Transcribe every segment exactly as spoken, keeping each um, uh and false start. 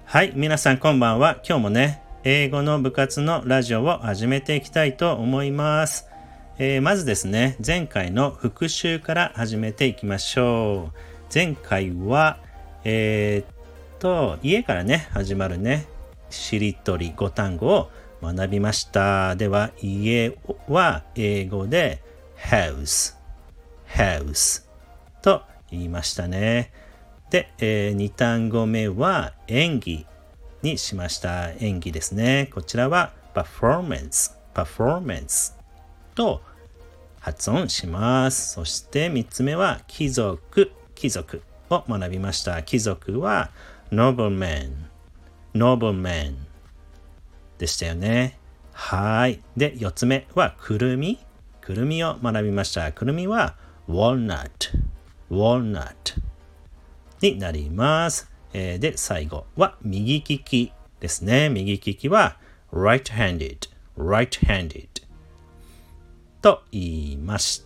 はい、皆さんこんばんは。今日もね、英語の部活のラジオを始めていきたいと思います。えー、まずですね、前回の復習から始めていきましょう。前回は、えー、っと、家からね、始まるね、しりとりご単語を学びました。では、家は英語で house、house と言いましたね。で、えー、に単語目は演技にしました。演技ですね。こちらは performance、performance と発音します。そしてみっつめは貴族、貴族を学びました。貴族は nobleman、nobleman でしたよね。はい。で、よっつめはくるみ、くるみを学びました。くるみは walnut、walnutになります。えー、で、最後は右利きですね。右利きは right-handed、right-handed と言いました。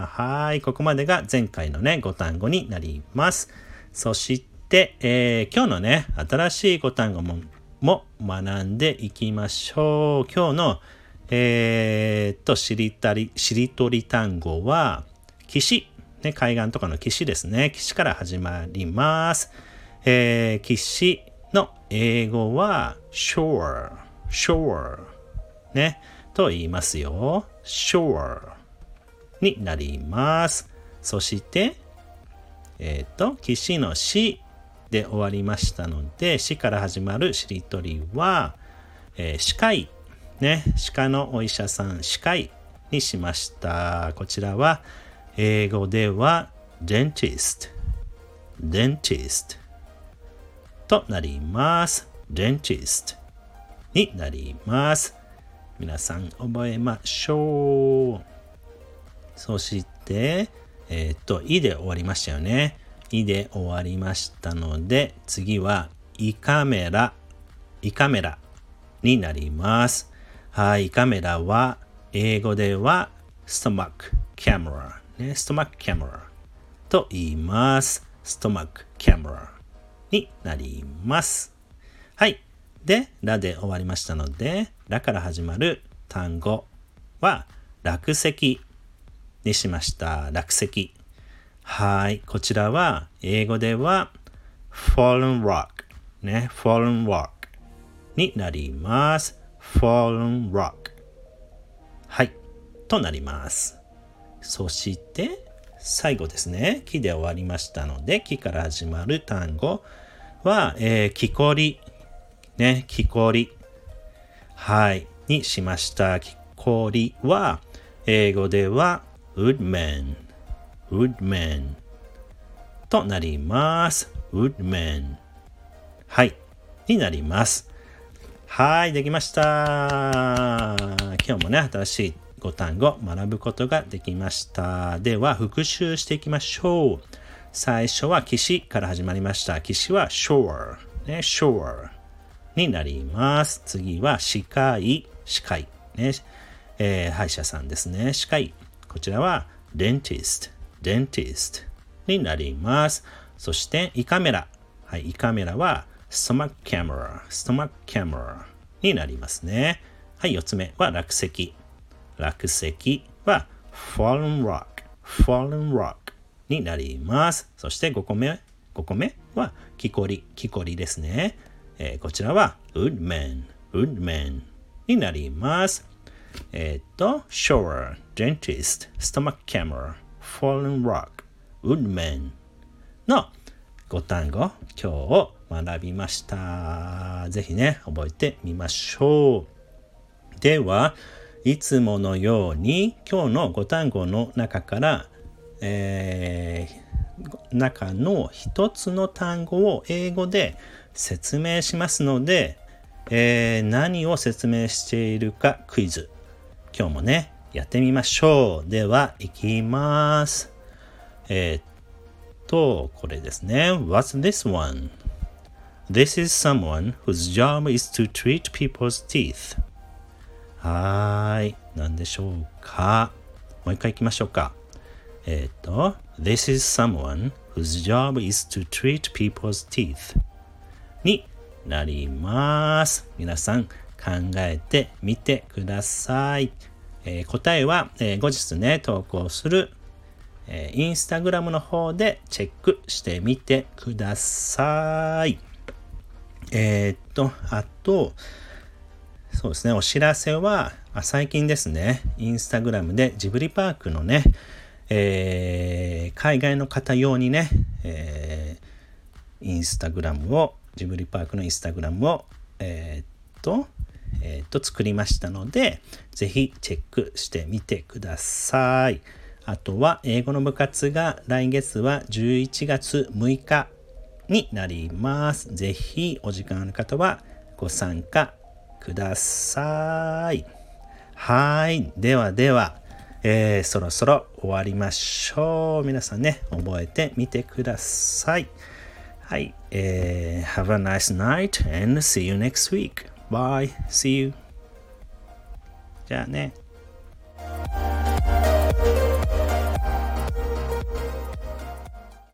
はい、ここまでが前回のね、ご単語になります。そして、えー、今日のね、新しいご単語も、も学んでいきましょう。今日の、えー、と、しりたり、しりとり単語は、岸。ね、海岸とかの岸ですね。岸から始まります。えー、岸の英語は shore、shore ね、と言いますよ。shore になります。そして、えっと、岸のしで終わりましたので、しから始まるしりとりは、えー、歯科医、ね、歯科のお医者さん、歯科医にしました。こちらは、英語では dentist、dentist となります。dentist になります。皆さん覚えましょう。そして、えっと、いで終わりましたよね。いで終わりましたので、次は胃カメラ、胃カメラになります。はい、胃カメラは英語では stomach camera。ね、ストマックキャメラと言います。ストマックキャメラになります。はい。で、ラで終わりましたので、ラから始まる単語は落石にしました。落石。はい。こちらは英語では fallen rock ね、fallen rock になります。fallen rock はい。となります。そして最後ですね。木で終わりましたので、木から始まる単語は、えー、木こり。ね、木こり。はい。にしました。木こりは、英語では woodman、woodman となります。woodman はい。になります。はい。できました。今日もね、新しいご単語学ぶことができました。では復習していきましょう。最初は岸から始まりました。岸は shore、ね、shore になります。次は歯科医、歯科医、ねえー、歯医者さんですね。歯科医。こちらは dentist、dentist になります。そして胃カメラ。はい、胃カメラは stomach camera、stomach camera になりますね。はい、よっつめは落石。落石は fallen rock、fallen rock になります。そしてごこめ、ごこめは木こり、木こりですね。えー、こちらは woodman、woodman になります。えっと、shore、dentist、stomach camera、fallen rock、woodman のご単語、今日学びました。ぜひね、覚えてみましょう。では、いつものように今日のご単語の中から、えー、中の一つの単語を英語で説明しますので、えー、何を説明しているかクイズ。今日もね、やってみましょう。では、いきます。えー、っと、これですね。What's this one? This is someone whose job is to treat people's teeth.はーい。何でしょうか。もう一回行きましょうか。えっと、This is someone whose job is to treat people's teeth になります。皆さん考えてみてください。えー、答えは、えー、後日ね、投稿する、えー、インスタグラムの方でチェックしてみてください。えー、っと、あと、そうですね、お知らせは、最近ですね、インスタグラムでジブリパークのね、えー、海外の方用にね、えー、インスタグラムを、ジブリパークのインスタグラムを、えー、っと、えー、っと、作りましたので、ぜひチェックしてみてください。あとは、英語の部活が来月はじゅういちがつむいかになります。ぜひ、お時間ある方はご参加ください。はい。ではでは、えー、そろそろ終わりましょう。皆さんね、覚えてみてください。はい。えー、Have a nice night and see you next week. Bye. See you. じゃあね。